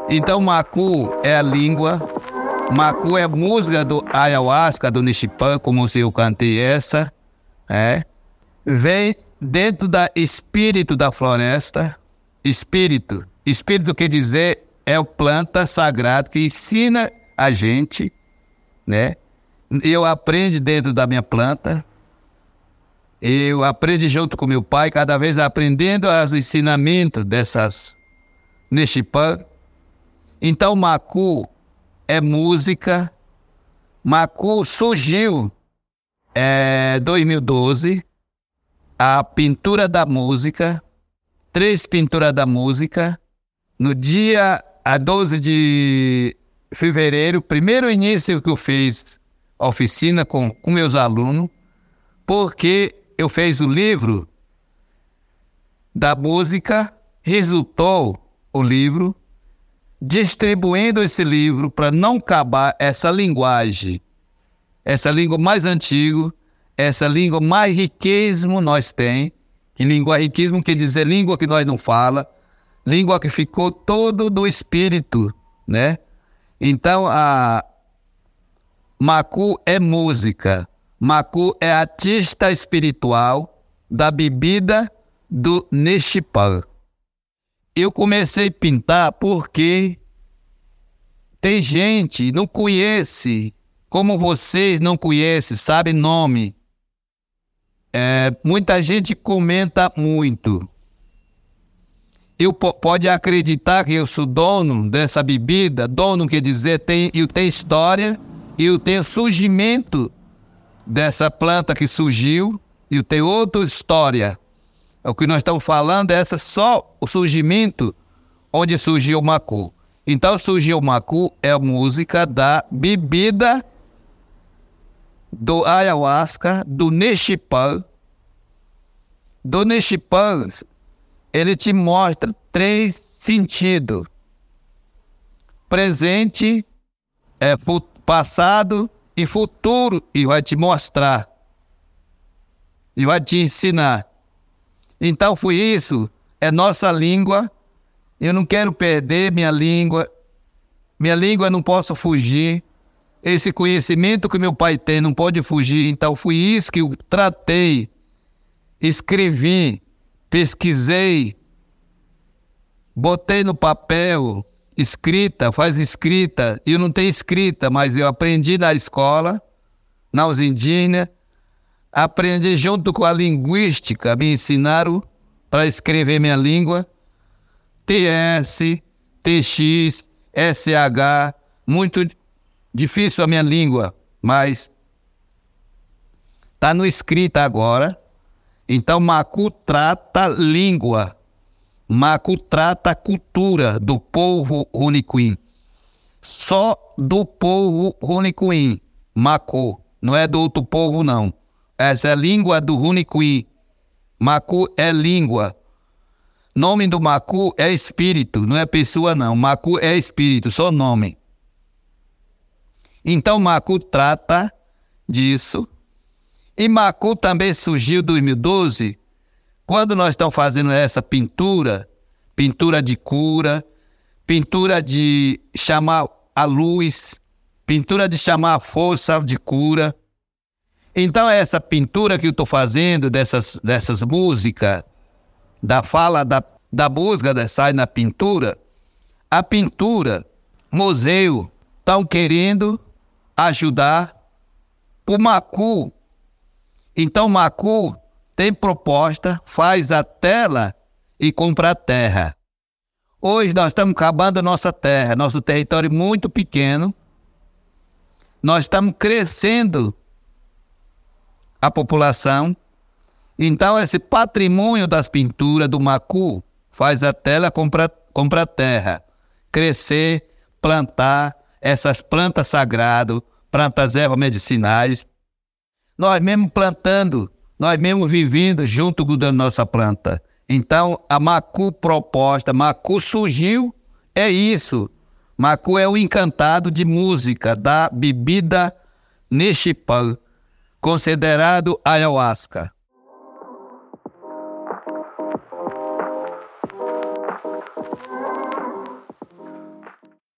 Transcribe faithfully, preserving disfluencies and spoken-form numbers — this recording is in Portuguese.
Então, macu é a língua, macu é a música do ayahuasca, do Nishipã, como se eu cantei essa, é. Vem dentro da espírito da floresta, espírito. Espírito quer dizer, é o planta sagrado que ensina a gente, né? Eu aprendo dentro da minha planta, eu aprendo junto com meu pai, cada vez aprendendo os ensinamentos dessas Nishipã. Então, macu é música. Macu surgiu em dois mil e doze, a pintura da música, três pinturas da música, no dia a doze de fevereiro, primeiro início que eu fiz a oficina com, com meus alunos, porque eu fiz o livro da música, resultou o livro, distribuindo esse livro para não acabar essa linguagem, essa língua mais antiga, essa língua mais riquismo nós tem, que língua riquismo quer dizer língua que nós não fala, língua que ficou todo do espírito, né? Então, a macu é música, macu é artista espiritual da bebida do Nishipã. Eu comecei a pintar porque tem gente que não conhece, como vocês não conhecem, sabe nome. É, muita gente comenta muito. Eu pode acreditar que eu sou dono dessa bebida. Dono quer dizer, tem, eu tenho história, eu tenho surgimento dessa planta que surgiu, eu tenho outra história. O que nós estamos falando é essa, só o surgimento onde surgiu o macu. Então, surgiu o macu é a música da bebida do ayahuasca, do Nishipã. Do Nishipã, ele te mostra três sentidos. Presente, é, passado e futuro. E vai te mostrar. E vai te ensinar. Então foi isso, é nossa língua, eu não quero perder minha língua, minha língua não posso fugir, esse conhecimento que meu pai tem não pode fugir, então foi isso que eu tratei, escrevi, pesquisei, botei no papel, escrita, faz escrita, eu não tenho escrita, mas eu aprendi na escola, na indígenas, aprendi junto com a linguística, me ensinaram para escrever minha língua, T S, T X, S H, muito difícil a minha língua, mas está no escrito agora. Então, macu trata língua, macu trata cultura do povo Runicuim, só do povo Runicuim, macu, não é do outro povo não. Essa é a língua do Runicuim. Macu é língua. Nome do macu é espírito, não é pessoa não. Macu é espírito, só nome. Então macu trata disso. E macu também surgiu em dois mil e doze, quando nós estamos fazendo essa pintura, pintura de cura, pintura de chamar a luz, pintura de chamar a força de cura. Então, essa pintura que eu estou fazendo, dessas, dessas músicas, da fala da, da música, sai na pintura, a pintura, museu, estão querendo ajudar o macu. Então, o macu tem proposta, faz a tela e compra a terra. Hoje nós estamos acabando a nossa terra, nosso território muito pequeno. Nós estamos crescendo a população. Então esse patrimônio das pinturas do macu faz a tela, compra, compra a terra, crescer, plantar essas plantas sagradas, plantas ervas medicinais, nós mesmos plantando, nós mesmos vivendo junto da nossa planta. Então a macu proposta, macu surgiu, é isso. Macu é o encantado de música da bebida Nishipã, considerado ayahuasca.